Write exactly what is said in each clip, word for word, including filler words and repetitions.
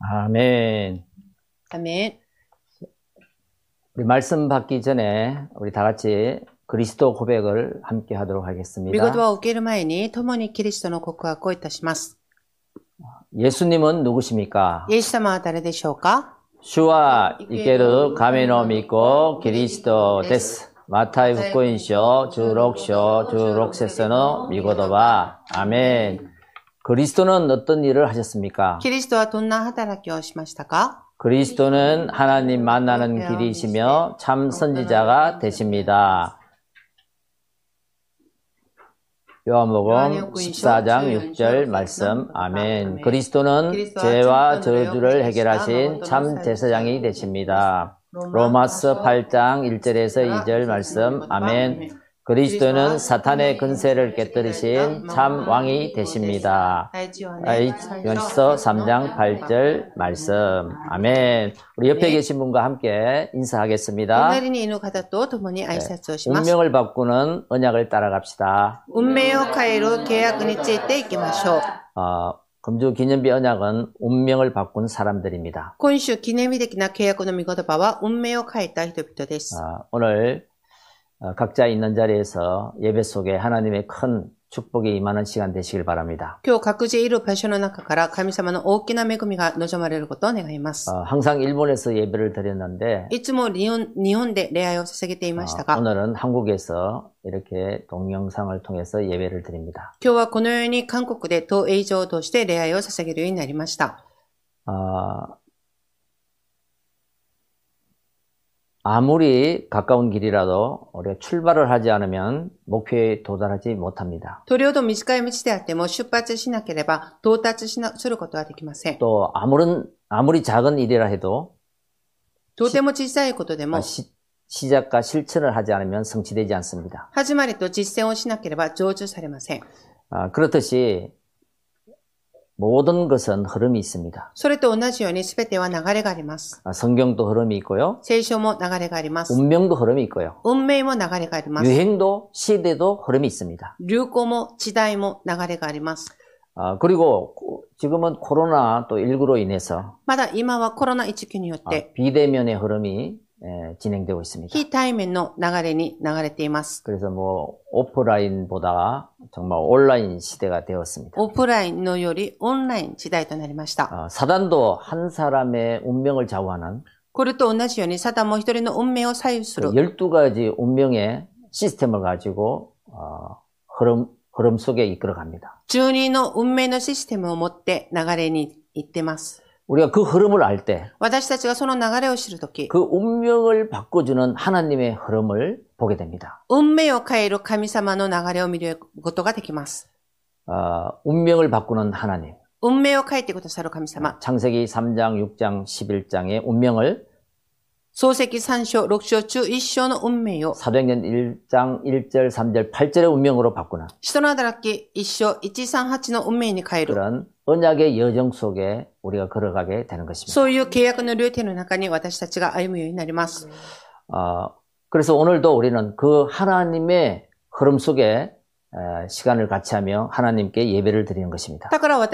아멘. 아멘. 우리 말씀 받기 전에 우리 다 같이 그리스도 고백을 함께 하도록 하겠습니다. 御言葉を受ける前に共にキリストの告白をいたします。 예수님은 누구십니까? イエス様は誰でしょうか? 주와 이케르 가메노 믿고 그리스도 데스. 마타이福音書 십육章 십육節の 미고도바. 아멘. 그리스도는 어떤 일을 하셨습니까? キリストはどんな働きをしましたか? 그리스도는 하나님 만나는 길이시며 참 선지자가 되십니다. 요한복음 십사 장 육 절 말씀. 아멘. 그리스도는 죄와 저주를 해결하신 참 제사장이 되십니다. 로마서 팔 장 일 절에서 이 절 말씀. 아멘. 그리스도는 사탄의 근세를 깨뜨리신 참 왕이 되십니다. 요한서 삼 장 팔 절 말씀. 아멘. 우리 옆에 계신 분과 함께 인사하겠습니다. 운명을 바꾸는 언약을 따라갑시다. 어, 금주 기념비 언약은 운명을 바꾼 사람들입니다. 어, 오늘 각자 있는 자리에서 예배 속에 하나님의 큰 축복이 임하는 시간 되시길 바랍니다. 어, 항상 일본에서 예배를 드렸는데 어, 오늘은 한국에서 이렇게 동영상을 통해서 예배를 드립니다. 어, 아무리 가까운 길이라도 우리가 출발을 하지 않으면 목표에 도달하지 못합니다. 또 아무런 아무리 작은 일이라 해도 시, 시작과 실천을 하지 않으면 성취되지 않습니다. 아, 그렇듯이 모든 것은 흐름이 있습니다. 아, 성경도 흐름이 있고요. 운명도 흐름이 있고요. 유행도 시대도 흐름이 있습니다. 아, 그리고 지금은 코로나 또 십구로 인해서 아, 비대면의 흐름이 예, 진행되고 있습니다. 그래서 뭐 오프라인보다 정말 온라인 시대가 되었습니다. 어, 사단도 한 사람의 운명을 좌우하는 열두 가지 운명의 시스템을 가지고 어, 흐름, 흐름 속에 이끌어갑니다. 우리가 그 흐름을 알 때 그 운명을 바꿔주는 하나님의 흐름을 보게 됩니다. 어, 운명을 바꾸는 하나님. 창세기 삼 장, 육 장, 십일 장의 운명을 사도행전 일 장 일 절, 삼 절, 팔 절의 운명으로 바꾸는 그런 언약의 여정 속에 우리가 걸어가게 되는 것입니다. 어, 그래서 오늘도 우리는 그 하나님의 흐름 속에 시간을 같이 하며 하나님께 예배를 드리는 것입니다.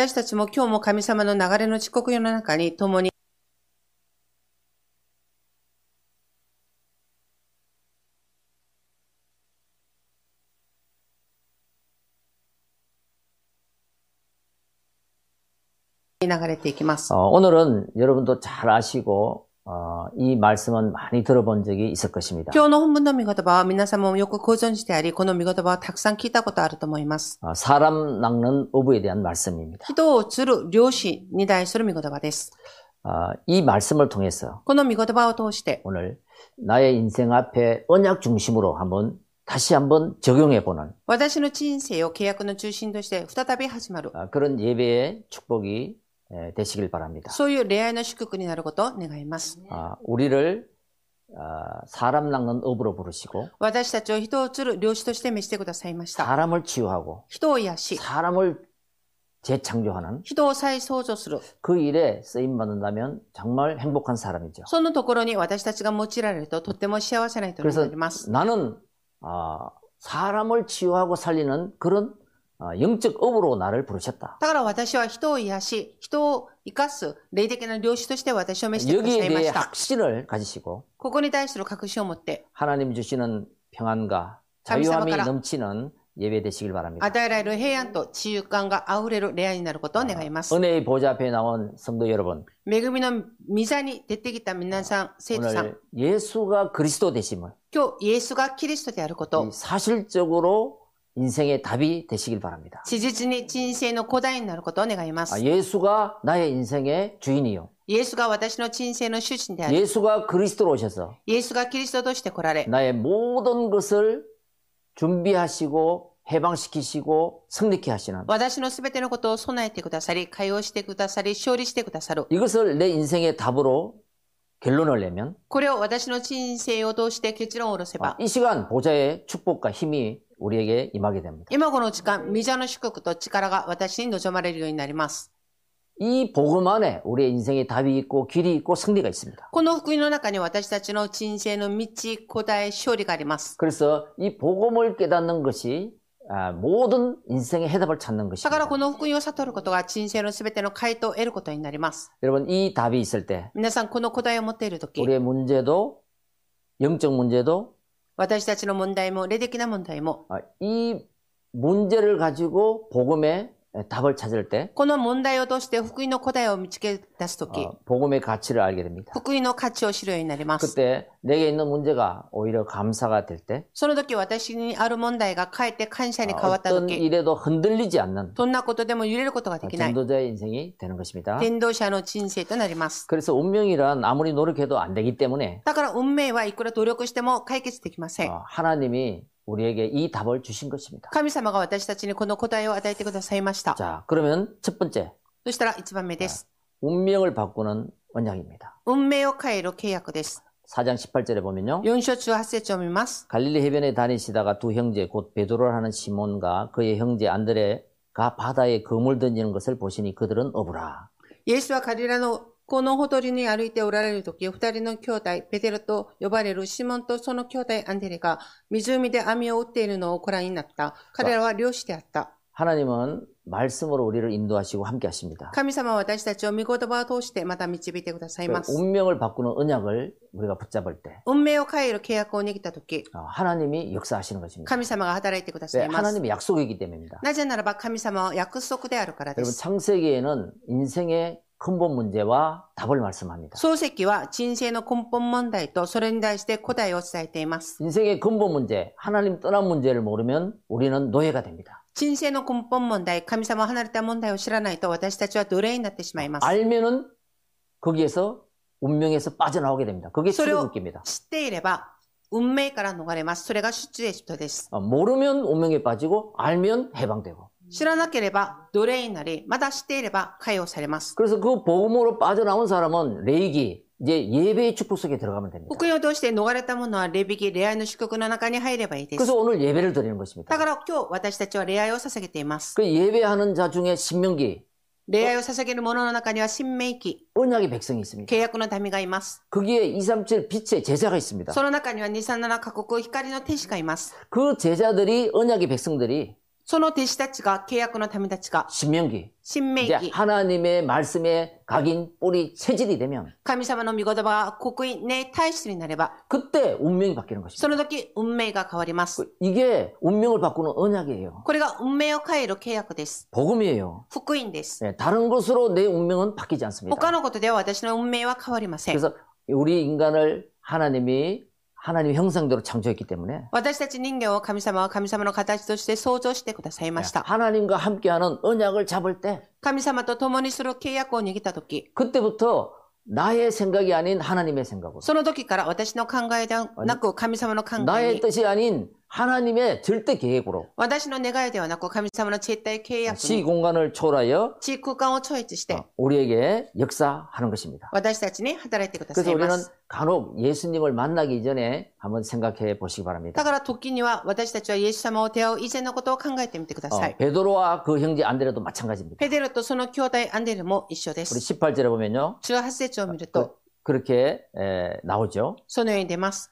어, 오늘은 여러분도 잘 아시고 어, 이 말씀은 많이 들어본 적이 있을 것입니다. 어, 사람 낚는 어부에 대한 말씀입니다. 어, 이 말씀을 통해서 오늘 나의 인생 앞에 언약 중심으로 한번 다시 한번 적용해보는 어, 그런 예배의 축복이 되시길 바랍니다. 아, 우리를 아, 사람 낚는 업으로 부르시고 사람을 치유하고 사람을 재창조하는 그 일에 쓰임받는다면 정말 행복한 사람이죠. 그래서 나는 아, 사람을 치유하고 살리는 그런 어, 영적 업으로 나를 부르셨다. だから私は人を癒し、人を生かす霊的な領主として私を召してくださ 여기에 いま 대해 した。 확신을 가지시고 ここに対する確信を持って、 하나님 주시는 평안과 자유함이 넘치는 예배 되시길 바랍니다. 与えられる平安と自由感があふれる礼拝になることを願います。 은혜의 보좌 앞에 나온 성도 여러분, 恵みの御座に出てきた皆さん、生徒さん、 오늘 예수가 그리스도 되심을 今日イエスがキリストであること、 사실적으로 인생의 답이 되시길 바랍니다. 事実に人生の答えになることを願いま 아, す。 예수가 나의 인생의 주인이요. イエスが私の人生の主人である。 예수가 그리스도로 오셔서 イエスがキリストとして来られ、 나의 모든 것을 준비하시고 해방시키시고 승리케 하시는 私のすべてのことを備えてくださり、解放してくださり、勝利してくださる。 이것을 내 인생의 답으로 결론을 내면 これを私の人生を通して結論を下ろせば、 이 시간 보좌의 축복과 힘이 우리에게 임하게 됩니다. 今この時間、御座の祝福と力が私に望まれるようになります。 이 복음 안에 우리의 인생의 답이 있고 길이 있고 승리가 있습니다. この福音の中に私たちの人生の道、答え、勝利があります。 그래서 이 복음을 깨닫는 것이 아, 모든 인생의 해답을 찾는 だから 것입니다. この福音を悟ることが人生のすべての回答を得ることになります。 여러분 이 답이 있을 때 皆さん、この答えを持っているとき、 우리의 문제도 영적 문제도 私たちの問題も、霊的な問題も、 아, 이 문제를 가지고 복음의 답을 찾을 때 この問題を通して福音の答えを見つけ出すとき、 어, 복음의 가치를 알게 됩니다. 福音の価値を知るようになります。 그때 내게 있는 문제가 오히려 감사가 될 때 その時私にある問題がかえって感謝に変わった 어떤 時、 일에도 흔들리지 않는 どんなことでも揺れることができない、 전도자의 인생이 되는 것입니다. 伝道者の人生となります。 그래서 운명이란 아무리 노력해도 안 되기 때문에 だから運命はいくら努力しても解決できません。 어, 하나님이 우리에게 이 답을 주신 것입니다. 神様が私たちにこの答えを与えてくださいました。 자, 그러면 첫 번째 そしたら一番目です。 운명을 바꾸는 언약입니다. 運命を変える契約です。 사 장 십팔 절에 보면요. よん章じゅうはち節を見ます。 갈릴리 해변에 다니시다가 두 형제 곧 베드로를 하는 시몬과 그의 형제 안드레가 바다에 그물 던지는 것을 보시니 그들은 어부라. イエスはカリラのこのほとりに歩いておられるとき、二人の兄弟、ペテロと呼ばれるシモンとその兄弟アンデレが湖で網を打っているのをご覧になった。彼らは漁師であった。 하나님은 말씀으로 우리를 인도하시고 함께 하십니다. 神様は私たちを御言葉を通してまた導いてくださいます。 운명을 바꾸는 언약을 우리가 붙잡을 때 運命を変える契約を握ったとき、 하나님이 역사하시는 것입니다. 神様が働いてくださ 왜? います。 하나님의 약속이기 때문입니다. なぜならば神様は約束であるからで 여러분 す。 창세기에는 인생의 근본 문제와 답을 말씀합니다. 漱石は人生の根本問題とそれに対して答えを伝えています。 인생의 근본 문제, 하나님 떠난 문제를 모르면 우리는 노예가 됩니다. 人生の根本問題、神様を離れた問題を知らないと私たちは奴隷になってしまいます。 알면은 거기에서 운명에서 빠져나오게 됩니다. 그게 それを 출애굽기입니다. 知っていれば運命から逃れます。それが出エジプトです。 어, 모르면 운명에 빠지고 알면 해방되고. 知らなければ奴隷になり、まだ知っていれば解放されます。 그래서 그 복음으로 빠져나온 사람은 레이기, 이제 예배의 축복 속에 들어가면 됩니다. 福音を通して逃れた者は礼引き、礼拝の祝福の中に入ればいいです。 그래서 오늘 예배를 드리는 것입니다. だから今日私たちは礼拝を捧げています。 그 예배하는 자 중에 신명기, 礼拝を捧げる者の中には新明記、 언약의 백성이 있습니다. 契約の民がいます。 거기에 이삼칠 빛의 제자가 있습니다. その中にはにさんななカ国光の天使がいます。 그 제자들이 언약의 백성들이 その弟子たちが、契約の民たちが、 신명기, 新明 이제 記、 하나님의 말씀에 각인 뿌리 체질이 되면 神様の御言葉が刻印、ね、体質になれば、 그때 운명이 바뀌는 것입니다. その時、運命が変わります。 이게 운명을 바꾸는 언약이에요. これが運命を変える契約です。 복음이에요. 福音です。 네, 다른 것으로 내 운명은 바뀌지 않습니다. 他のことでは私の運命は変わりません。 그래서 우리 인간을 하나님이 하나님의 형상대로 창조했기 때문에 私たち人間を神様は神様の形として創造してくださいました。 하나님과 함께하는 언약을 잡을 때 神様と共にする契約を握った時、 그때부터 나의 생각이 아닌 하나님의 생각으로 その時から私の考えではなく神様の考え 나의 に、 뜻이 아닌 하나님의 절대 계획으로 私の願いではなく神様の絶対契約に、 시공간을 초월하여 地空間を超越して 우리에게 역사하는 것입니다. 私たちに働いてくださ 그래서 いま 우리는 す。 간혹 예수님을 만나기 전에 한번 생각해 보시기 だ 바랍니다. から時には私たちはイエス様を出会う以前のことを考えてみてくださ 어, い。 베드로와 그 형제 안드레도 마찬가지입니다. ペテロとその兄弟アンデルも一緒で 우리 す。 십팔 절에 보면요. じゅうはち節を見ると、 그렇게 에, 나오죠. そのように出ます。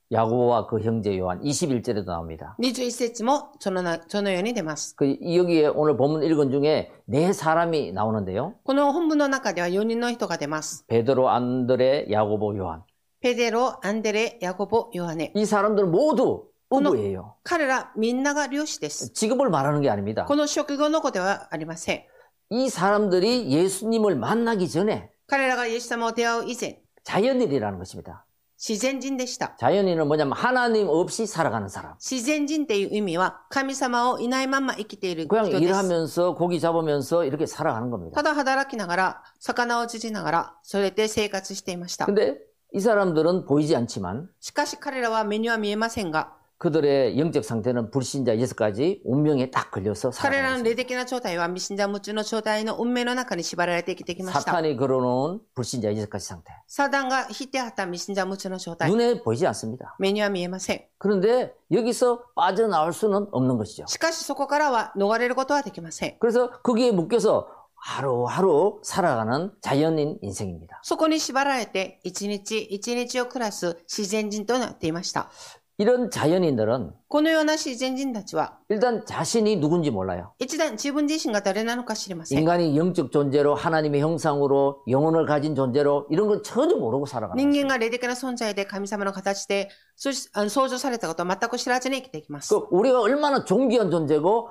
야고보와 그 형제 요한 이십일 절에도 나옵니다. にじゅういち節もそのなそのように出ます。 그 여기에 오늘 본문 읽은 중에 네 사람이 나오는데요. この本文の中ではよにんの人が出ます。 베드로, 안드레, 야고보, 요한. ペデロ、アンデレ、ヤコボ、ヨハネ。 이 사람들은 모두 어부예요. 彼らみんなが漁師です。 직업을 말하는 게 아닙니다. この職業の子ではありません。 이 사람들이 예수님을 만나기 전에 彼らがイエス様を出会う以前、 자연인이라는 것입니다. 自然人でした。 자연인은 뭐냐면 하나님 없이 살아가는 사람. 自然人っていう意味は神様をいないまま生きている人 그냥 です。 일하면서 고기 잡으면서 이렇게 살아가는 겁니다. ただ働きながら、魚を釣りながら、それで生活していました。 근데 이 사람들은 보이지 않지만 しかし彼らは目には見えませんが、 그들의 영적 상태는 불신자 여섯 가지 운명에 딱 걸려서 彼らの 살아가는 霊的な状態は未信者無知の状態の運命の中に縛られて生きてきました。 사탄이 걸어놓은 불신자 여섯 가지 상태. サタンが引いてあった未信者無知の状態。 눈에 보이지 않습니다. 目には見えません。 그런데 여기서 빠져나올 수는 없는 것이죠. しかしそこからは逃れることはできません。 그래서 거기에 묶여서 하루하루 살아가는 자연인 인생입니다. そこに縛られて一日一日を暮らす自然人となっていました。 이런 자연인들은 このような自然人たちは 일단 자신이 누군지 몰라요. 一段自分自身が誰なのか知りません。 인간이 영적 존재로 하나님의 형상으로 영혼을 가진 존재로 이런 건 전혀 모르고 살아가는 人 거예요. 間が霊的な存在で神様の形でそしあの創造されたことを全く知らずに生きていきます。 그 우리가 얼마나 존귀한 존재고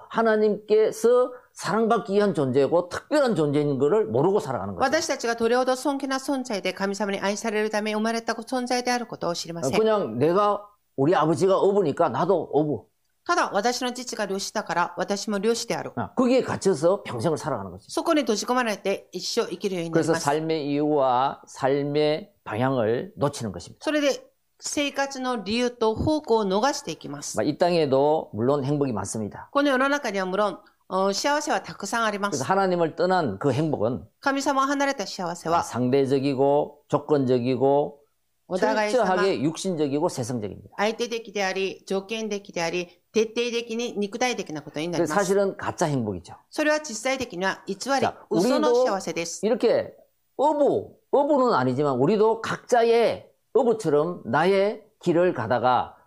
하나님께서 사랑받기 위한 존재고 특별한 존재인 것을 모르고 살아가는 거죠. 私たちがどれほど尊敬な存在で神様に愛されるため生まれた存在であることを知りません。 그냥 내가 우리 아버지가 어부니까 나도 어부. ただ私の父が漁師だから私も漁師である。 거기에 갇혀서 평생을 살아가는 거죠. そこに閉じ込まれて一生生きるようになり 그래서 ます。 삶의 이유와 삶의 방향을 놓치는 것입니다. それで生活の理由と方向を逃していきます。 이 땅에도 물론 행복이 많습니다. この世の中には無論어, 幸せはたくさんありま 그래서 す。 하나님을 떠난 그 행복은 神様を離れた幸せは 상대적이고 조건적이고 お互い様 철저하게 육신적이고 세상적입니다. 相手的であり、条件的であり、徹底的に肉体的なことになり 그래서 ます。 사실은 가짜 행복이죠. それは実際的には偽り 자 、 嘘の 우리도 幸せです。 이렇게 어부, 어부는 아니지만 우리도 각자의 어부처럼 나의 길을 가다가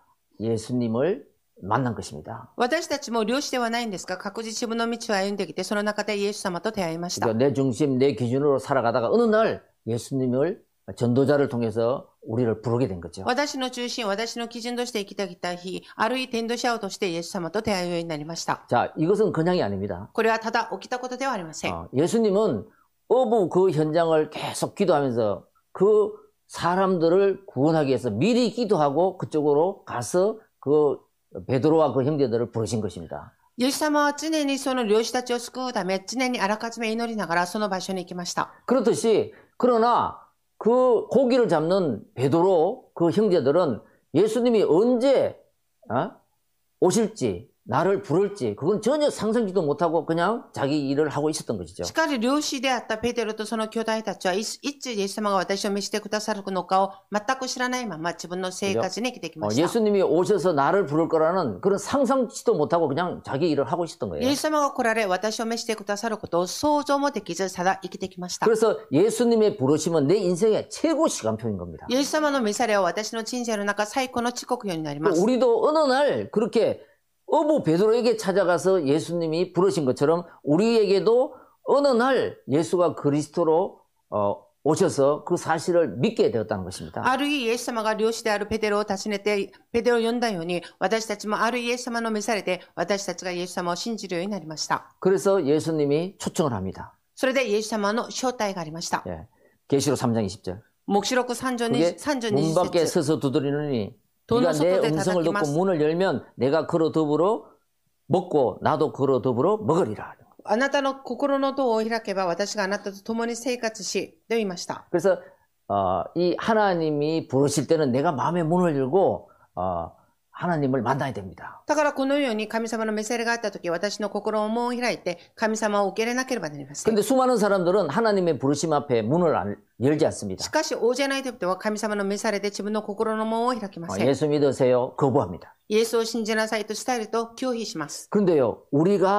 예수님을 만난 것입니다. 私たちも漁師ではないんですが、各自自分の道を歩んできて、その中でイエス様と出会いました。 그러니까 내 중심, 내 기준으로 살아가다가 어느 날 예수님을 전도자를 통해서 우리를 부르게 된 거죠. 私の中心、私の基準として生きてきた日、あるい天道者をとしてイエス様と出会うようになりました。 자, 이것은 그냥이 아닙니다. これはただ起きたことではありません。 어, 예수님은 어부 그 현장을 계속 기도하면서 그 사람들을 구원하기 위해서 미리 기도하고 그쪽으로 가서 그 베드로와 그 형제들을 부르신 것입니다. イエス様は常にその漁師たちを救うため、常にあらかじめ祈りながらその場所に行きました。 그렇듯이 그러나 그 고기를 잡는 베드로 그 형제들은 예수님이 언제 어? 오실지 나를 부를지 그건 전혀 상상지도 못하고 그냥 자기 일을 하고 있었던 것이죠. しかし漁師であったペテロとその兄弟たちはいついつイエス様が私を召してくださるのかを全く知らないまま自分の生活に生きてきま 어, した。 예수님이 오셔서 나를 부를 거라는 그런 상상지도 못하고 그냥 자기 일을 하고 있었던 イ 거예요. エス様が来られ私を召してくださることを想像もできずただ生きてきました。 그래서 예수님의 부르심은 내 인생의 최고 시간표인 겁니다. イエス様の召されは私の人生の中最高の遅刻ようになります。 우리도 어느 날 그렇게 어부 베드로에게 찾아가서 예수님이 부르신 것처럼 우리에게도 어느 날 예수가 그리스도로 어, 오셔서 그 사실을 믿게 되었다는 것입니다. ある日イエス様が漁師であるペテロを訪ねてペテロを呼んだように私たちもあるイエス様の召されて私たちがイエス様を信じるようになりました。 그래서 예수님이 초청을 합니다. それでイエス様の招待がありました。 예. 계시록 삼 장 이십 절. 黙示録さん章に 그게 さん章 문 にじゅっ 밖에 節 서서 두드리느니 돈 네가 내 속도에 음성을 듣고 다다기마스. 문을 열면 내가 걸어 더불어 먹고 나도 걸어 더불어 먹으리라. あなたの心の戸を開けば私があなたと共に生活しと言いました。 그래서 어, 이 하나님이 부르실 때는 내가 마음의 문을 열고 어, 하나님을 만나야 됩니다. だからこのように神様の召されがあったとき、私の心を門を開いて神様を受け入れなければなりません。 그런데 수많은 사람들은 하나님의 부르심 앞에 문을 안, 열지 않습니다. しかし、大勢の人々は神様の召されで自分の心の門を開きま 어, せん。 예수 믿으세요. 거부합니다. イエスを信じなさいと伝えると拒否します。 그런데요, 우리가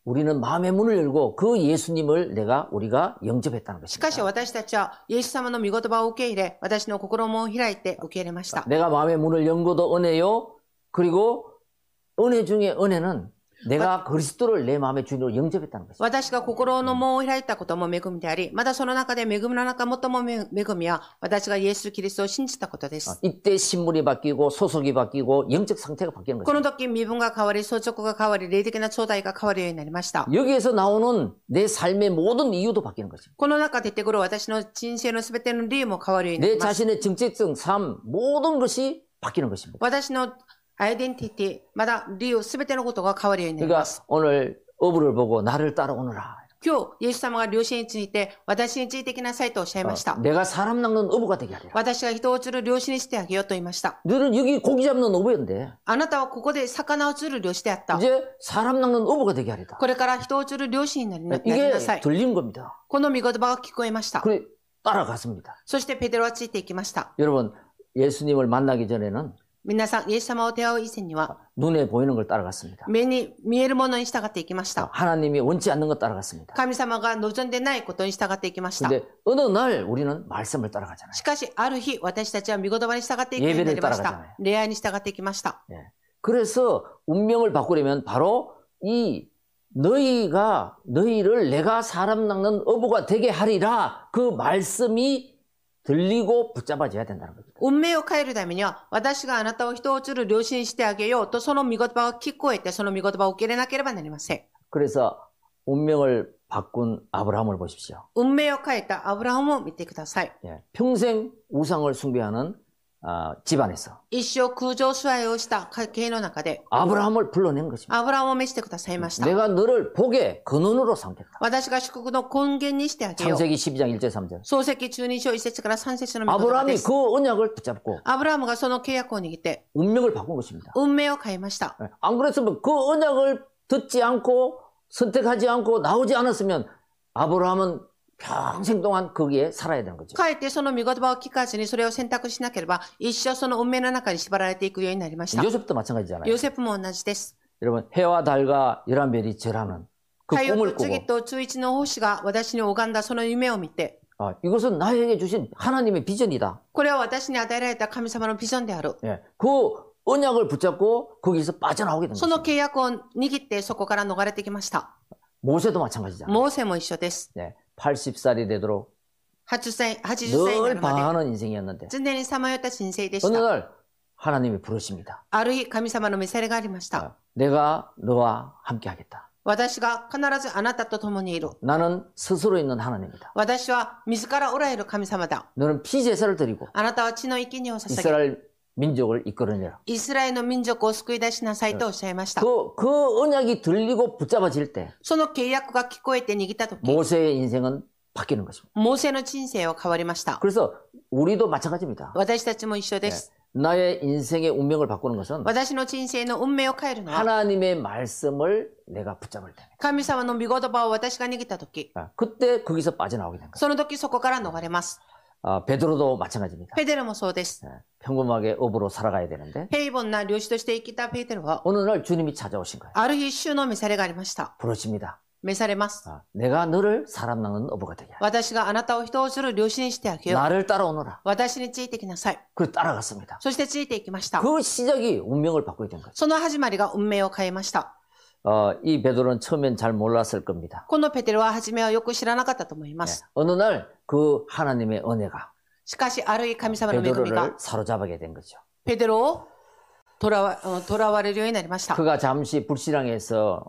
우리는 마음의 문을 열고 그 예수님을 내가 우리가 영접했다는 しかし 것입니다. 私たちはイエス様の御言葉を受け入れ、私の心も開いて受け入れました。 내가 마음의 문을 연 것도 은혜요. 그리고 은혜 중에 은혜는 내가 그리스도를 내 마음의 주인으로 영접했다는 것입니다. 私が心の門を開いたことも恵みであり、またその中で恵みの中最も恵みは、私がイエス・キリストを信じたことです。 이때 신분이 바뀌고 소속이 바뀌고 영적 상태가 바뀌는 この 것입니다. 時身分が変わり、相続が変わり、霊的な頂戴が変わるようになりました。 여기에서 나오는 내 삶의 모든 이유도 바뀌는 것입니다. この中で出てくる私の人生のすべての理由も変わるようにな 내 ります。 자신의 정체성, 삶, 모든 것이 바뀌는 것입니다. 私のアイデンティティ、まだ理由すべてのことが変わるようになり 그러니까 ます。 오늘 어부를 보고 나를 따라오너라. 今日、イエス様が漁師について、私についてきなさいとおっしゃいました。 내가 사람 낚는 어부가 되게 하리라. 私が人を釣る漁師にしてあげようと言いました。 너는 여기 고기 잡는 어부였는데 あなたはここで魚を釣る漁師であった。 이제 사람 낚는 어부가 되게 하리다. これから人を釣る漁師になりな 이게 なさい。 들린 겁니다. この御言葉が聞こえました。 그래 따라갔습니다. そしてペテロはついていきました。 여러분 예수님을 만나기 전에는 皆さん、イエス様を出会う以前には、 눈에 보이는 걸 따라갔습니다. 目に見えるものに従っていきました。 하나님이 원치 않는 것 따라갔습니다. 神様が望んでないことに従っていきました。 근데 어느 날 우리는 말씀을 따라가잖아요. しかし、ある日、私たちは御言葉に従っていくようになりました。礼拝に従っていきました。 예. 그래서 운명을 바꾸려면 바로 이 너희가 너희를 내가 사람 낚는 어부가 되게 하리라 그 말씀이 들리고 붙잡아져야 된다는 겁니다. 運命を変えるためには、私があなたを人を釣る漁師にしてあげようと、その御言葉を聞こえて、その御言葉を受け入れなければなりません。 그래서 운명을 바꾼 아브라함을 보십시오. 運命を変えたアブラハムを見てください。 예. 평생 우상을 숭배하는 아, 집안에서 一生空上崇拝をした家系の中で、 아브라함을 불러낸 것입니다. アブラハムを召してくださいました。 내가 너를 복의 근원으로 삼겠다. 私が祝福の根源にしてあげよう。 창세기 십이 장 일 절 삼 절. 創世記じゅうに章いち節からさん節の御言葉で 아브라함이 す。 그 언약을 붙잡고 アブラハムがその契約を握って、 운명을 바꾼 것입니다. 運命を変えました。 예. 안 그랬으면 그 언약을 듣지 않고 선택하지 않고 나오지 않았으면 아브라함은 평생 동안 거기에 살아야 되는 거죠. かえってその御言葉を聞かずにそれを選択しなければ、一生その運命の中に縛られていくようになりました。 요셉도 마찬가지잖아요. ヨセフも同じです。 여러분 해와 달과 열한 별이 절하는 그 太陽 꿈을 と次 꾸고 と中一の星が私に拝んだその夢を見て、 아, 이것은 나에게 주신 하나님의 비전이다. これは私に与えられた神様のビジョンである。 예. 그 언약을 붙잡고 거기서 빠져나오게 된 その 것입니다. 契約を握ってそこから逃れてきました。 모세도 마찬가지잖아요. モーセも一緒です。 네. 팔십 살이 되도록 はちじゅっさい、はちじゅっさいにな 늘 るまで 방황하는 인생이었는데 常にさまよった人生でし 어느 た。 날 하나님이 부르십니다. ある日、神様の召されがありました。 아, 내가 너와 함께 하겠다. 私が必ずあなたと共にいる。 나는 스스로 있는 하나님이다. 私は自らおられる神様だ。 너는 피제사를 드리고 あなたは血の生贄を捧げ、 이스라엘 민족을 이끌어내라. イスラエルの民族を救い出しなさいとおっしゃいました。 그, 그 언약이 들리고 붙잡아질 때 その契約が聞こえて握ったとき、 모세의 인생은 바뀌는 것입니다. モーセの人生は変わりました。 그래서 우리도 마찬가지입니다. 私たちも一緒です。 나의 인생의 운명을 바꾸는 것은 私の人生の運命を変えるのは、 하나님의 말씀을 내가 붙잡을 때 神様の御言葉を私が握ったとき、 그때 거기서 빠져나오게 된 거예요. その時そこから逃れます。 아, 베드로도 마찬가지입니다. ペテロもそうです。 네, 평범하게 업으로 살아가야 되는데 平凡な漁師として生きたペテロは、 어느 날 주님이 찾아오신 거예요. ある日主の召されがありました。 부르십니다. 召されます。 아, 내가 너를 사람 낚는 어부가 되게 하라. 私があなたを人をする漁師にしてあげよう。 나를 따라오너라. 私についてきなさい。 그래서 따라갔습니다. そしてついていきました。 그 시작이 운명을 바꾸게 된 거죠. その始まりが運命を変えました。 어, 이 베드로는 처음엔 잘 몰랐을 겁니다. このペテロは初めはよく知らなかったと思いま 네, す。 어느 날 그 하나님의 은혜가 しかし、ある日神様の恵み 베드로를 が 사로잡게 된 거죠. ペテロを囚わ、囚われるようになりました。 그가 잠시 불신앙해서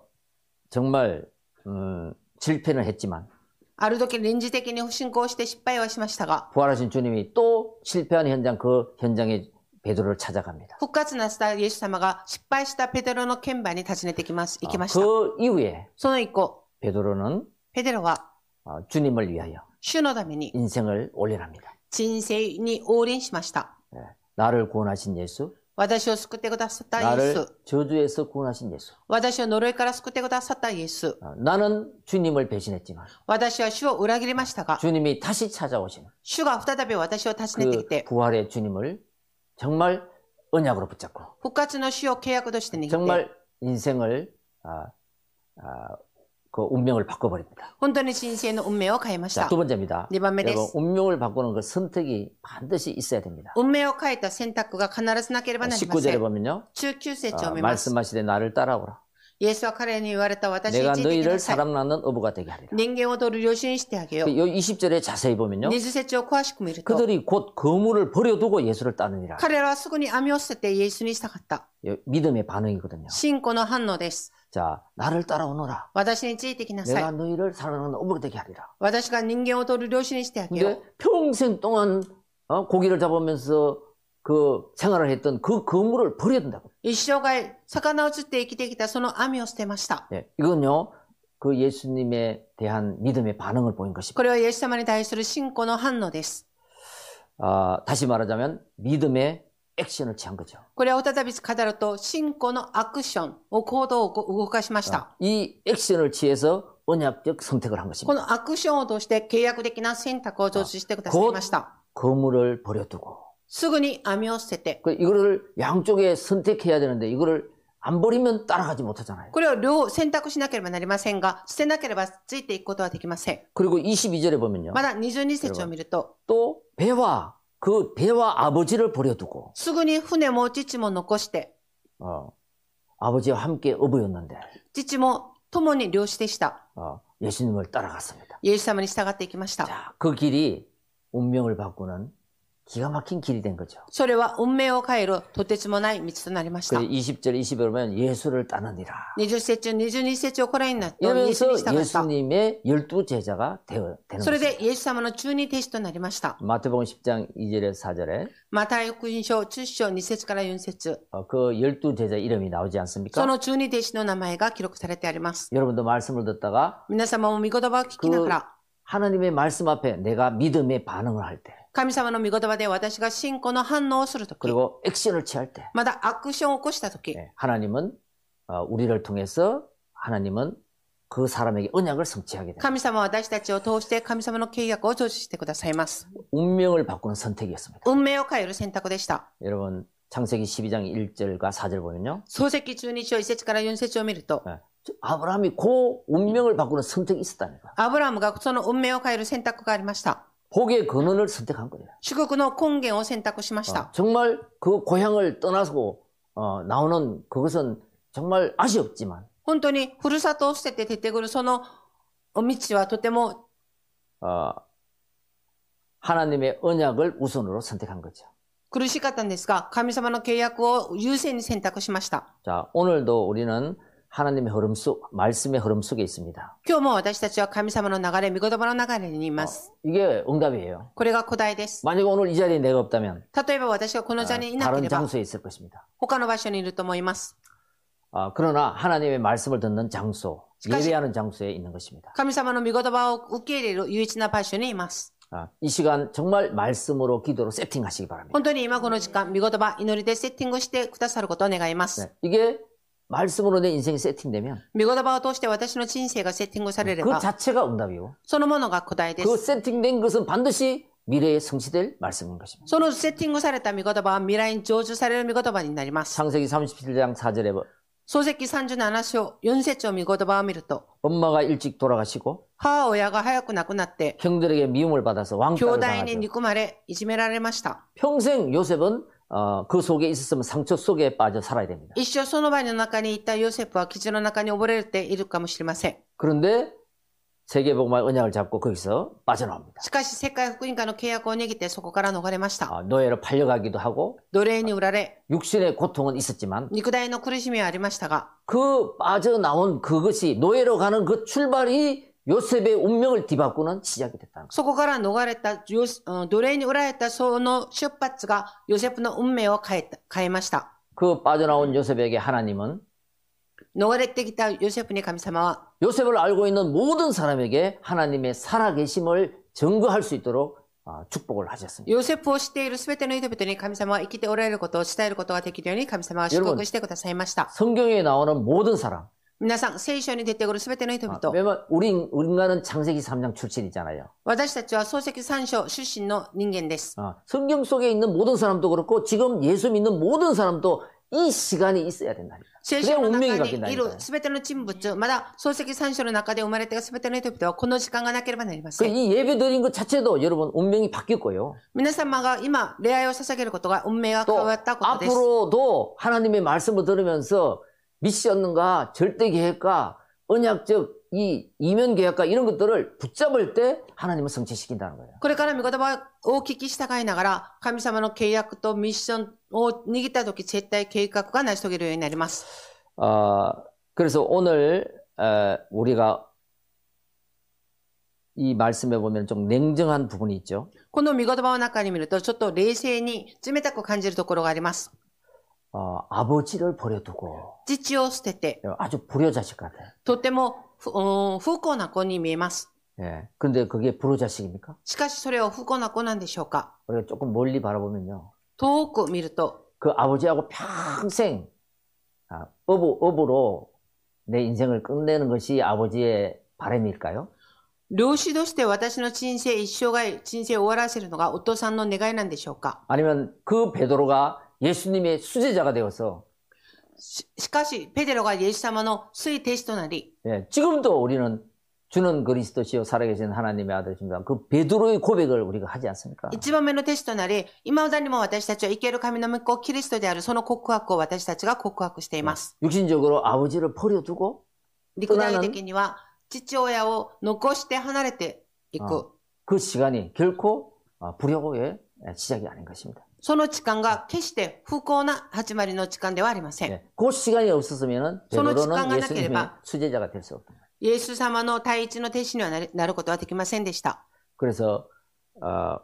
정말 음, 실패는 했지만 ある時臨時的に不信仰して失敗はしましたが、 부활하신 주님이 또 실패한 현장 그 현장에 베드로를 찾아갑니다. 復活なさったイエス様が失敗したペテロの現場に訪ねてきます、行きました。 그 이후에 その以降、 베드로는 ペテロは 어, 주님을 위하여 主のために 인생을 올려납니다. 人生に応臨しました。 네, 나를 구원하신 예수, 私を救ってくださったイエ 나를 ス。 저주에서 구원하신 예수. 私を呪いから救ってくださったイエス。 어, 나는 주님을 배신했지만 私は主を裏切りましたが、 주님이 다시 찾아오신 主が再び私を訪ねてき 그 て、 부활의 주님을 정말 언약으로 붙잡고 復活の主を契約として握って、 정말 인생을 아, 아, 그 운명을 바꿔버립니다. 本当に人生の運命を変えまし 자, た。 두 번째입니다. にばんめで 여러분, す。 운명을 바꾸는 그 선택이 반드시 있어야 됩니다. 運命を変えた選択が必ずなければなりま 십구 せ 절에 ん。 보면요. 中級節を 어, 見ます。 말씀하시되 나를 따라오라. イエスは彼に言われた私に 내가 ついてき 너희를 なさい。 사람 낳는 어부가 되게 하리라. 人間を取る領主にしてあげよう。 요 이십 절에 자세히 보면요. にじゅう節を詳しく見ると、 그들이 곧 거물을 버려두고 예수를 따르니라. 彼らはすぐに網を捨ててイエスにしたかった。 믿음의 반응이거든요. 信仰の反応です。 자, 나를 따라오너라. 私についてきなさ 내가 い。 너희를 사람 낳는 어부가 되게 하리라. 私が人間を取る領主にしてあげよう。 근데 평생 동안 어, 고기를 잡으면서 그 생활을 했던 그 거물을 버려둔다고. 一生涯、魚を釣って生きてきたその網を捨てました。 예, 이건요, 그 예수님에 대한 믿음의 반응을 보인 こ 것입니다. れはイエス様に対する信仰の反応です。 아, 다시 말하자면 믿음의 액션을 취한 거죠. これは再び語ると、信仰のアクションを行動を動かしました。 이 액션을 취해서 언약적 선택을 한 こ 것입니다. のアクションを通して契約的な選択を通してくださいました。 거물을 버려두고 すぐに網を捨てて、 그 이거를 양쪽에 선택해야 되는데 이거를 안 버리면 따라가지 못하잖아요. これを両選択しなければなりませんが、捨てなければついていくことはできません。 그리고 이십이 절에 보면요. まだにじゅうに節を見ると、 또 배와 그 배와 아버지를 버려두고 すぐに船も父も残して、 어, 아버지와 함께 어부였는데 父も共に漁師でした。 어, 예수님을 따라갔습니다. イエス様に従っていきました。 자, 그 길이 운명을 바꾸는 기가 막힌 길이 된 거죠. それは運命を変えるとてつもない道となりました。 그 이십 절, 이십일 절 보면 예수를 따르니라. にじゅう節、にじゅうに節をこれになってイエス 이러면서 に従った。 예수님의 열두 제자가 되어, 되는 それ 거죠. でイエス様の中二弟子となりました。 마태복음 십 장 이 절에서 사 절에 マタイ福音書じゅっ章に節からよん節。 어, 그 열두 제자 이름이 나오지 않습니까? その中二弟子の名前が記録されてあります。 여러분도 말씀을 듣다가 皆様も御言葉を聞きながら、 하나님의 말씀 앞에 내가 믿음의 반응을 할 때, 神様の御言葉で私が信仰の反応をするとき、 그리고 액션을 취할 때, まだアクションを起こしたとき、 네, 하나님은 어, 우리를 통해서 하나님은 그 사람에게 언약을 성취하게 됩니다. 神様は私たちを通して神様の契約を成就してくださいます。 운명을 바꾸는 선택이었습니다. 運命を変える選択でした。 여러분 창세기 십이 장 일 절과 사 절 보면요. 創世記じゅうに章いち節からよん節を見ると、 네, 아브라함이 그 운명을 바꾸는 선택이 있었다니까. アブラムがその運命を変える選択がありました。 복의 근원을 선택한 거예요. 祝福の根源を選択しまし 어, た。 정말 그 고향을 떠나서 어, 나오는 그것은 정말 아쉬웠지만 本当にふるさとを捨てて出てくるその道はとても 어, 하나님의 언약을 우선으로 선택한 거죠. 苦しかったんですが、神様の契約を優先に選択しました。 자, 오늘도 우리는 하나님의 흐름 속, 말씀의 흐름 속에 있습니다. 今日も私たちは神様の流れ、御言葉の流れにいます。 어, 이게 응답이에요. これが答えです。 만약에 오늘 이 자리에 내가 없다면 例えば私がこの座にいなけ 다른 れば、 장소에 있을 것입니다. 他の場所にいると思います。 어, 그러나 하나님의 말씀을 듣는 장소, 시까지- 예배하는 장소에 있는 것입니다. 神様の御言葉を受け入れる唯一な場所にいます。 아, 이 시간 정말 말씀으로 기도로 세팅하시기 바랍니다. 本当に今この時間、御言葉、祈りでセッティングしてくださることを願います。 네, 이게 말씀으로 내 인생이 세팅되면 御言葉を通して私の人生がセッティングされれ 그 ば、 자체가 응답이고 そのものが答えで 그 す。 세팅된 것은 반드시 미래에 성취될 말씀인 것입니다. そのセッティングされた御言葉は未来に成就される御言葉になります。 창세기 삼십칠 장 사 절에 創世記さんじゅうなな章よん節を御言葉を見ると、 엄마가 일찍 돌아가시고 母親が早く亡くなって、 형들에게 미움을 받아서 兄 왕따를 弟に 당하죠. 憎まれ、いじめられました。 평생 요셉은 어, 그 속에 있었으면 상처 속에 빠져 살아야 됩니다. 一生その場の中にいたヨセフは傷の中に溺れているかもしれません。 그런데 세계복음화 언약을 잡고 거기서 빠져나옵니다. しかし世界福音化の契約を握ってそこから逃れました。 어, 노예로 팔려가기도 하고 奴隷に売られ、 육신의 고통은 있었지만 肉体の苦しみはありましたが、 그 빠져나온 그것이 노예로 가는 그 출발이 요셉의 운명을 뒤바꾸는 시작이 됐다는 거예요. そこから逃れたヨセ、うん奴隷に売られたその出発がヨセフの運命を変えた、変えました。 그 빠져나온 요셉에게 하나님은 逃れてきたヨセフに神様は、 요셉을 알고 있는 모든 사람에게 하나님의 살아계심을 증거할 수 있도록 어, 축복을 하셨습니다. ヨセフを知っているすべての人々に神様は生きておられることを伝えることができるように神様は祝福してくださいました。 성경에 나오는 모든 사람, 皆さん、聖書に出てくるすべての人 어, 々、 왜냐면 우리 우리가는 창세기 삼 장 출신이잖아요. 私たちは創世記さん章出身の人間です。 어, 성경 속에 있는 모든 사람도 그렇고 지금 예수 믿는 모든 사람도 이 시간이 있어야 된다. 聖書の中にいるすべての人物、まだ創世記さん章の中で生まれたすべての人々はこの時間がなければなりません。 이 예배 드린 것 자체도 여러분 운명이 바뀔 거예요. 皆様が今礼拝を捧げることが運命が変わったことです。 앞으로도 하나님의 말씀을 들으면서 미션과 절대 계획과 언약적 이 이면 계약과 이런 것들을 붙잡을 때 하나님은 성취시킨다는 거예요. これから御言葉を聞き従いながら神様の契約とミッションを握ったとき絶対計画が成し遂げるようになります。 어, 그래서 오늘 어, 우리가 이 말씀에 보면 좀 냉정한 부분이 있죠. この御言葉の中に見るとちょっと冷静に冷たく感じるところがあります。 어, 아버지를 버려두고 父を捨てて 아주 불효자식 같아요. とても不幸な子に見えます。 예. 근데 그게 불효자식입니까? しかしそれは不幸な子なんでしょうか? 우리가 조금 멀리 바라보면요. 遠く見ると 그 아버지하고 평생 아, 어부, 어부로 내 인생을 끝내는 것이 아버지의 바람일까요? 漁師として私の人生一生涯人生を終わらせるのがお父さんの願いなんでしょうか? 아니면 그 베드로가 예수님의 수제자가 되어서 し, しかしペテロがイエス様の水弟子となり 예, 지금도 우리는 주는 그리스도시요 살아계신 하나님의 아들이십니다. 그 베드로의 고백을 우리가 하지 않습니까? 一番目の弟子となり今だにも私たちは生ける神の御子キリストであるその告白を私たちが告白しています。 육신적으로 아버지를 버려두고 肉体的には父親を残して離れていく。 어, 그 시간이 결코 불효의 시작이 아닌 것입니다. その時間が決して不幸な始まりの時間ではありません。 네, 그 시간이 없었으면 베드로는 예수님의 수제자가 될 수 없다. イエス様の第一の弟子にはなる、なることはできませんでした。 그래서 어,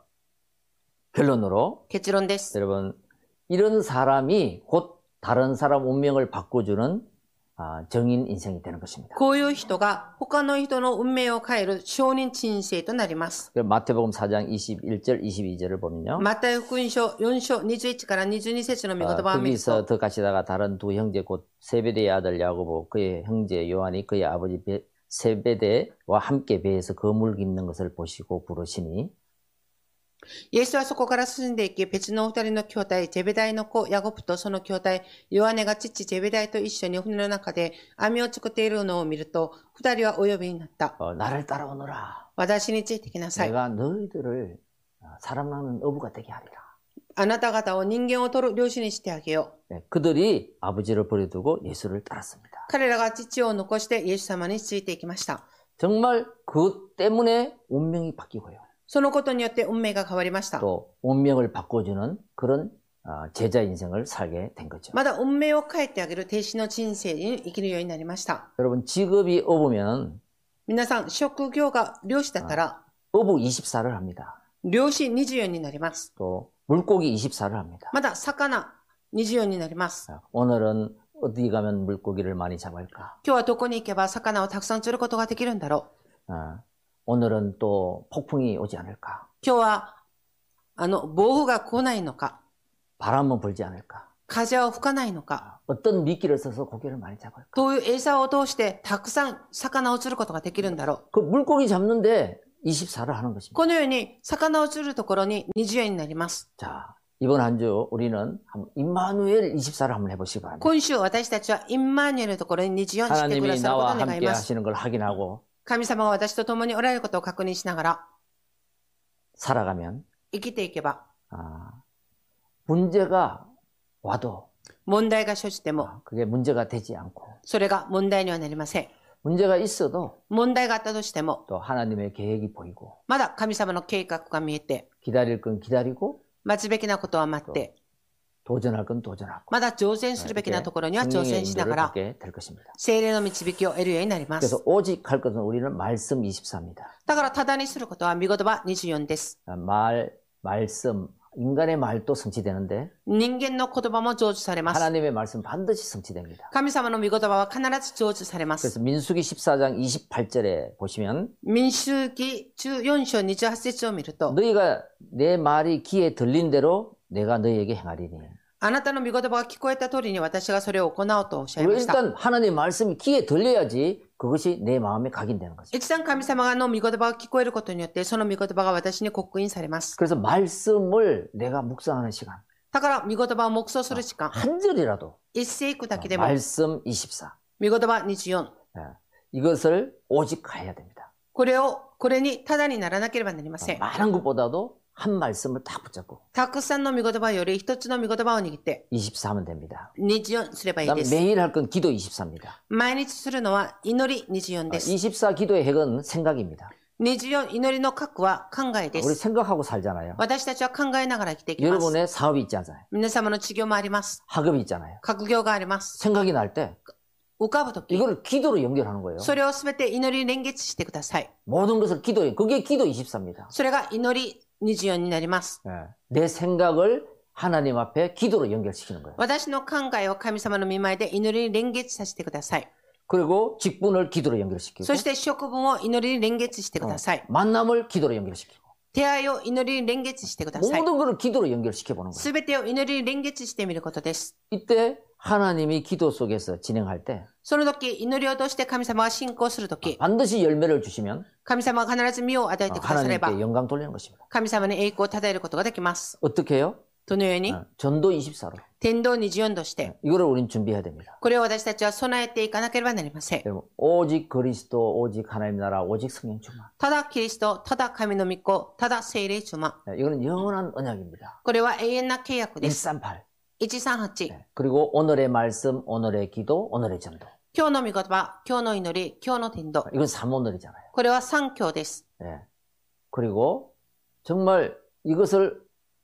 결론으로 結論です。 여러분 이런 사람이 곧 다른 사람 운명을 바꿔주는 아, 정인 인생이 되는 것입니다. こういう人が他の人の運命を変える証人人生となります。 마태복음 사 장 이십일 절 이십이 절을 보면요. マタイ福音書よん章にじゅういちからにじゅうに節の御言葉を見ると 거기서 더 가시다가 다른 두 형제 곧 세베대의 아들 야고보 그의 형제 요한이 그의 아버지 베, 세베대와 함께 배에서 거물 깁는 것을 보시고 부르시니 イエスはそこから進んでいき、別の二人の兄弟、ゼベダイの子、ヤコブとその兄弟、ヨハネが父ゼベダイと一緒に船の中で網を作っているのを見ると、二人はお呼びになった。 어, 나를 따라오너라. 私についてきなさい。 내가 너희들을 사람 낳는 어부가 되게 하리라. あなた方を人間を取る漁師にしてあげよう。 네, 그들이 아버지를 버려두고 예수를 따랐습니다. 彼らが父を残してイエス様についていきました。 정말 그것 때문에 운명이 바뀌고요. そのことによって運命が変わりました。 또 운명을 바꿔주는 그런 제자 인생을 살게 된 거죠. まだ運命を変えてあげる弟子の人生に生きるようになりました。 여러분 직업이 어부면 皆さん職業が漁師だったら 어부 이십사를 합니다. 漁師にじゅうよんになります。 또 물고기 이십사를 합니다. まだ魚にじゅうよんになります。 오늘은 어디 가면 물고기를 많이 잡을까? 今日はどこに行けば魚をたくさん釣ることができるんだろう。 어, 오늘은 또 폭풍이 오지 않을까? 今日はあの暴風が来ないのか、 바람은 불지 않을까? 風は吹かないのか、 어떤 미끼를 써서 고기를 많이 잡을까? どういう餌を通してたくさん魚を釣ることができるんだろう。 그 물고기 잡는데 이십사를 하는 것입니다. このように魚を釣るところににじゅうよんになります。 자, 이번 한 주 우리는 임마누엘 이십사를 한번 해보시기 바랍니다. 今週私たちはインマニュエルのところににじゅうよんしてくだ 하나님이 さることを 나와 願い 함께 ます。 하시는 걸 확인하고 神様が私と共におられることを確認しながら 살아가면 生きていけば、 아, 문제가 와도 問題が生じても 그게 문제가 되지 않고 それが問題にはなりません。 문제가 있어도 問題があったとしても 또 하나님의 계획이 보이고 まだ神様の計画が見えて 기다릴 건 기다리고 待つべきなことは待って 도전할 건 도전하고 まだ挑戦するべきなところには挑 성령의 戦しな 인도를 がら 받게 될 것입니다. 聖霊の導きを得るようになりま 그래서 す。 오직 할 것은 우리는 말씀 이십사입니다. だからただにすることは御言葉にじゅうよんです。 말, 말씀, 인간의 말도 성취되는데 人間の言葉も成就されます。 하나님의 말씀 반드시 성취됩니다. 神様の御言葉は必ず成就されます。 그래서 민수기 십사 장 이십팔 절에 보시면 民数記じゅうよん章にじゅうはち節を見ると、 너희가 내 말이 귀에 들린 대로 내가 너희에게 행하리니. あなたの御言葉が聞こえた通りに私がそれを行おうとおっしゃいました。 일단 하나님의 말씀이 귀에 들려야지 그것이 내 마음에 각인되는 거죠. 一旦神様の御言葉が聞こえることによってその御言葉が私に刻印されます。 그래서 말씀을 내가 묵상하는 시간. だから、御言葉を黙想する時間。 한 절이라도 一節いくだけでも、 말씀 이십사. 御言葉にじゅうよん。 이것을 오직 가야 됩니다. これを、これにただにならなければなりません。 많은 것보다도 한 말씀을 딱 붙잡고 たくさんの御言葉より一つの御言葉を握って、 이십사 하면 됩니다. にじゅうよんすればいいです。 매일 할 건 기도 이십사입니다. 毎日するのは祈りにじゅうよんです。 이십사 기도의 핵은 생각입니다. にじゅうよん祈りの核は考えで 우리 す。 생각하고 살잖아요. 私たちは考えながら生きていきます。 여러분의 사업이 있지 않아요. 皆様の事業もあります。 학업이 있잖아요. 学業があります。 생각이 날 때 浮かぶとき、 이거를 기도로 연결하는 거예요. それをすべて祈りに連結してください。 모든 것을 기도에 그게 기도 이십사입니다. それが祈りにじゅうよんになります。 내 생각을 하나님 앞에 기도로 연결시키는 거예요. 私の考えを神様の御前で祈りに連結させてください。 그리고 직분을 기도로 연결시키고 そして職分を祈りに連結してください。 만남을 기도로 연결시키고 出会いを祈りに連結してください。 모든 것을 기도로 연결시켜 보는 거예요. すべてを祈りに連結してみることです。 이때 하나님이 기도 속에서 진행할 때 その時、祈りを通して神様が信仰する時、 반드시 열매를 주시면 神様が必ず実を与えてくだされば、 하나님께 영광 돌리는 것입니다. 神様に栄光を称えることができます。 어떻게 해요? どのように、 전도 이십사로 天道にじゅうよんとして、 이거를 우린 준비해야 됩니다. これを私たちは備えていかなければなりません。 여러분, 오직 그리스도, 오직 하나님 나라, 오직 성령 충만. ただキリスト、ただ神の御子、ただ聖霊充満。 이거는 영원한 언약입니다. これは永遠な契約です。 일삼팔. いちさんはち。 그리고 오늘의 말씀, 오늘의 기도, 오늘의 전도. 今日の御言葉、今日の祈り、今日の天道。 이건 삼오늘이잖아요. これは三教です。 예. 그리고 정말 이것을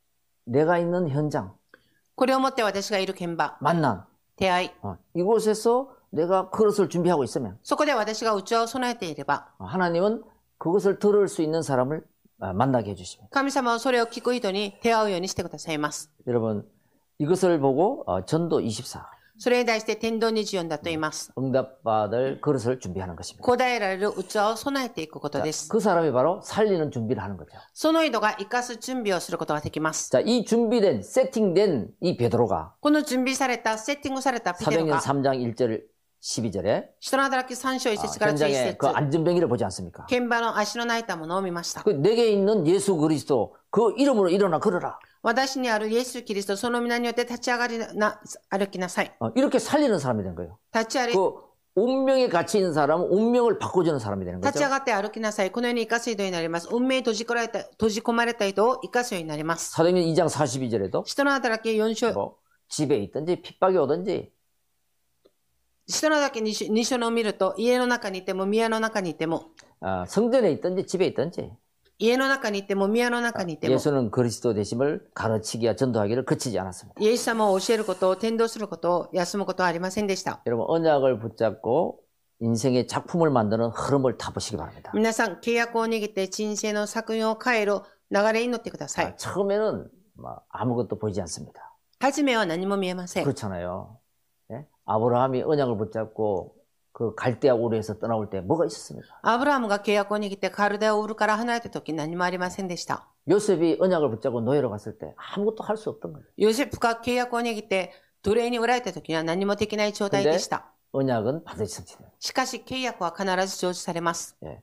내가 있는 현장, これをもって私がいる現場、 만남, 出会い。 어, 이곳에서 내가 그것을 준비하고 있으면 そこで私が器を備えていれば、 하나님은 그것을 들을 수 있는 사람을 만나게 해주십니다. 神様はそれを聞く人に出会うようにしてくださいます。 여러분, 이것을 보고 전도 이십사, それに対して天道にじゅうよんだと言います。 응답받을 그릇을 준비하는 것입니다. 答えられる器を備えていくことです。 그 사람이 바로 살리는 준비를 하는 거죠. その人が生かす準備をすることができます。 자, 이 준비된, 세팅된 이 베드로가 この準備された、セッティングされたペテロ 사도행전 が、 삼 장 일 절 십이 절에 人の働きさん章いち節からじゅういち 현장에 節、 그 안전뱅이를 보지 않습니까? 現場の足の泣いたものを見ました。 그 내게 있는 예수 그리스도 그 이름으로 일어나 걸어라. 私にあるイエス・キリスト、その皆によって立ち上がりな、歩きなさい。 어, 이렇게 살리는 사람이 된 거예요. 立ち歩 그 운명에 갇혀 있는 사람은 운명을 바꿔주는 사람이 되는 立ち上 거죠. がって歩きなさい。このように生かす人になります。運命に閉じ込られた、閉じ込まれた人を生かすようになります。 사도행전 이 장 사십이 절에도 人の働きよん章、 뭐 집에 있든지 핍박이 오든지 人の働きに章に章のを見ると、家の中にいても、宮の中にいても、 어, 성전에 있든지 집에 있든지 家の中にいても、宮の中にいても、 예수는 그리스도 되심을 가르치기와 전도하기를 그치지 않았습니다. イエス様を教えることを、伝道することを、休むことはありませんでした。 여러분 언약을 붙잡고 인생의 작품을 만드는 흐름을 타보시기 바랍니다. 皆さん、契約を握って人生の作品を変える流れに乗ってくださ 아, い。 처음에는 뭐 아무것도 보이지 않습니다. 初めは何も見えません。 그렇잖아요. 예? 아브라함이 언약을 붙잡고 그 갈대아 우르에서 떠나올 때 뭐가 있었습니까? アブラハムが契約を握ってカルデアウルから離れた時何もありませんでした。 요셉이 언약을 붙잡고 노예로 갔을 때 아무것도 할 수 없던 거예요. ヨセフが契約を握って奴隷に売られた時には何もできない状態でした。 언약은 반드시 성취돼요. しかし契約は必ず成就されます。 예.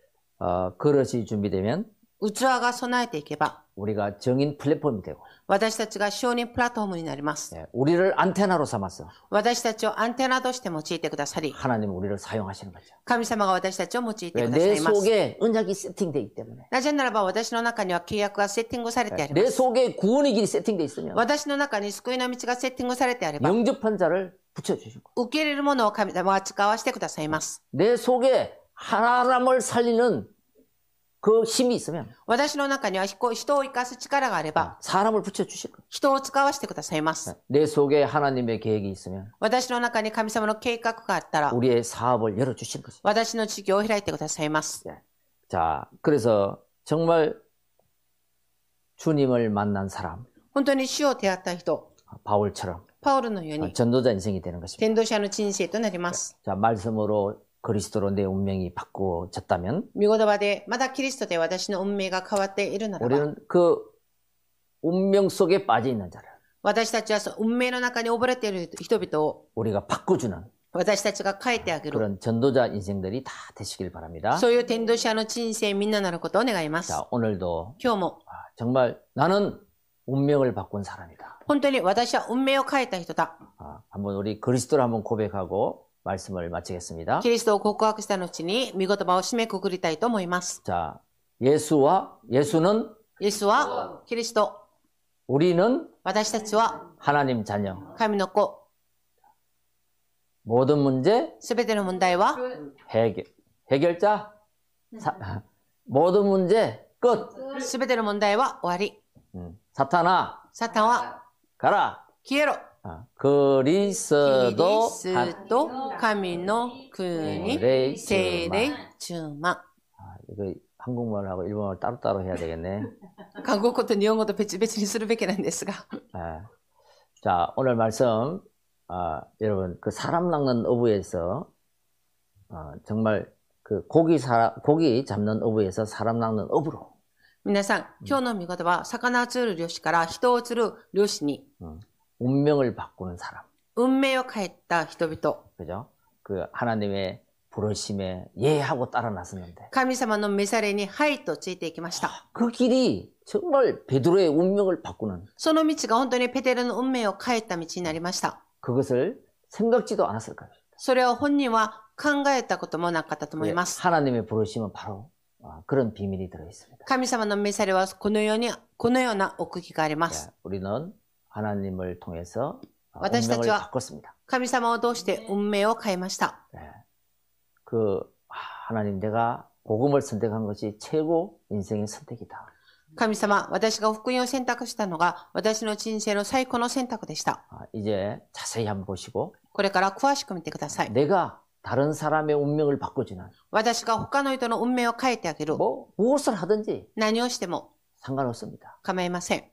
어, 그릇이 준비되면 器が備えていけば 우리가 정인 플랫폼이 되고 私たちが承認プラットフォームになります。 예. 우리를 안테나로 삼아서 私たちをアンテナとして用いてくださり、 하나님은 우리를 사용하시는 거죠. 神様が私たちを用いてくださ 내 います。 속에 언약이 세팅되어 있기 때문에 なぜならば私の中には契約がセッティングされてありま 내 す。 속에 구원의 길이 세팅되어 있으면 私の中に救いの道がセッティングされてあれば、 영접한 자를 붙여주시고 受け入れるものを神様は使わせてくださいます。 내 속에 사람을 살리는 그 힘이 있으면 私の中には人を生かす力があれば、 사람을 붙여주실 거예요. 人を使わせてくださいます。 내 속에 하나님의 계획이 있으면 私の中に神様の計画があったら、 우리의 사업을 열어주실 것이죠. 私の事業を開いてくださいます。 자, 그래서 정말 주님을 만난 사람, 本当に主を出会った人、 바울처럼 パウルのように、 전도자 인생이 되는 것입니다. 伝道者の人生となります。 자, 말씀으로 그리스도로 내 운명이 바꾸어졌다면 御言葉で、まだキリストで私の運命が変わっているならば、 우리는 그 운명 속에 빠져 있는 자를 私たちはその運命の中に溺れている人々を 우리가 바꿔주는 私たちが変えてあげる。 그런 전도자 인생들이 다 되시길 바랍니다. そういう伝道者の人生みんななることを願います。 자, 오늘도 今日も 정말 나는 운명을 바꾼 사람이다. 本当に私は運命を変えた人だ。 아, 한번 우리 그리스도를 한번 고백하고 말씀을 마치겠습니다. キリストを告白した後に、御言葉を締めくくりたいと思います。 자, 예수와 예수는 イエスはキリスト。 우리는 私たちは 하나님 자녀. 神の子。 모든 문제 すべての問題は 해결. 해결자. 사, 모든 문제 끝. すべての問題は終わり。 음, 사탄아 サタンは 가라. 消えろ。 아, キリ 그리스도 スト、神の国、 霊聖霊、中馬。 아, 이거 한국말하고 일본말 따로따로 해야 되겠네. 韓国語と日本語と別々にするべきなんですが。 아, 자, 오늘 말씀 아, 여러분 그 사람 낚는 어부에서 어, 정말 그 고기 사, 고기 잡는 어부에서 사람 낚는 어부로 皆さん、今日の見事は、魚を釣る漁師から人を釣る漁師に、 음, 운명을 바꾸는 사람. 運命を変えた人々。 그죠? 그 하나님의 부르심에 예하고 따라 나섰는데 神様の召されに、はいとついていきました。 그 길이 정말 베드로의 운명을 바꾸는 その道が本当にペテロの運命を変えた道になりました。 그것을 생각지도 않았을 거예요. それを本人は考えたこともなかったと思います。 하나님의 부르심은 바로 그런 비밀이 들어 있습니다. 神様の召されはこのように、このような奥義があります。 우리는 하나님을 통해서 私たち 운명을 は 바꿨습니다. 神様を通して運命を変えました。 그 하나님 내가 복음을 선택한 것이 최고 인생의 선택이다. 神様、私が福音を選択したのが私の人生の最高の選択でした。 이제 자세히 한번 보시고 これから詳しく見てください。 내가 다른 사람의 운명을 바꾸지는 私が他の人の運命を変えてあげる。 뭐 무엇을 하든지 何をしても 상관없습니다. 構いません。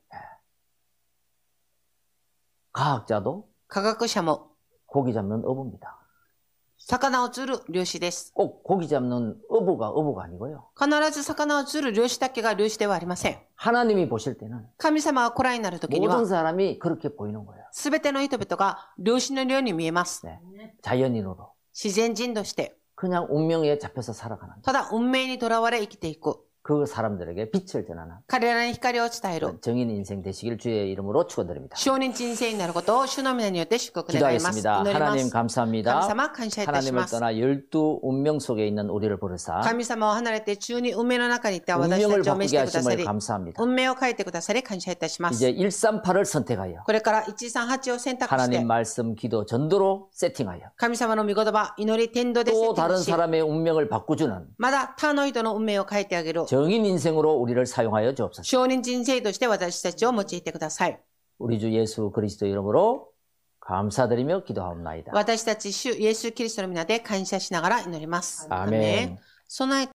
과학자도 科学者も 고기 잡는 어부입니다. 魚を釣る漁師です。 꼭 고기 잡는 어부가 어부가 아니고요. 必ず魚を釣る漁師だけが漁師ではありません。 하나님이 보실 때는 神様がご覧になるときに 모든 は、 사람이 그렇게 보이는 거예요. すべての人々が漁師のように見えます。 네. 자연인으로 自然人として、 그냥 운명에 잡혀서 살아가는 ただ運命にとらわれ生きていく。 그 사람들에게 빛을 전하는 彼らに光を伝える。 정인 인생 되시길 주의 이름으로 축원드립니다. 証人人生になることを主の皆によって祝福願います。 기도하겠습니다. 祈りま 하나님 す。 감사합니다. 神様、感謝いたし 하나님을 ます。 떠나 열두 운명 속에 있는 우리를 부르사 神様を離れて中に運命の中にいた私た 운명을 ちを召し 바꾸게 てくださ 하심을 り、 감사합니다. 運命を変えてくださり感謝いたします。 이제 일삼팔을 선택하여 これからいちさんはちを選択し 하나님 て、 말씀, 기도, 전도로 세팅하여 神様の御言葉、祈り、天道でセ 또 ッティン 다른 グし、 사람의 운명을 바꾸주는 まだ他の人の運命を変えてあげる。 정인 인생으로 우리를 사용하여 주옵소서. 証人人生として私たちを用いてください。 우리 주 예수 그리스도 이름으로 감사드리며 기도하옵나이다. 私たち主イエス・キリストの皆で感謝しながら祈ります。 アーメン。 備え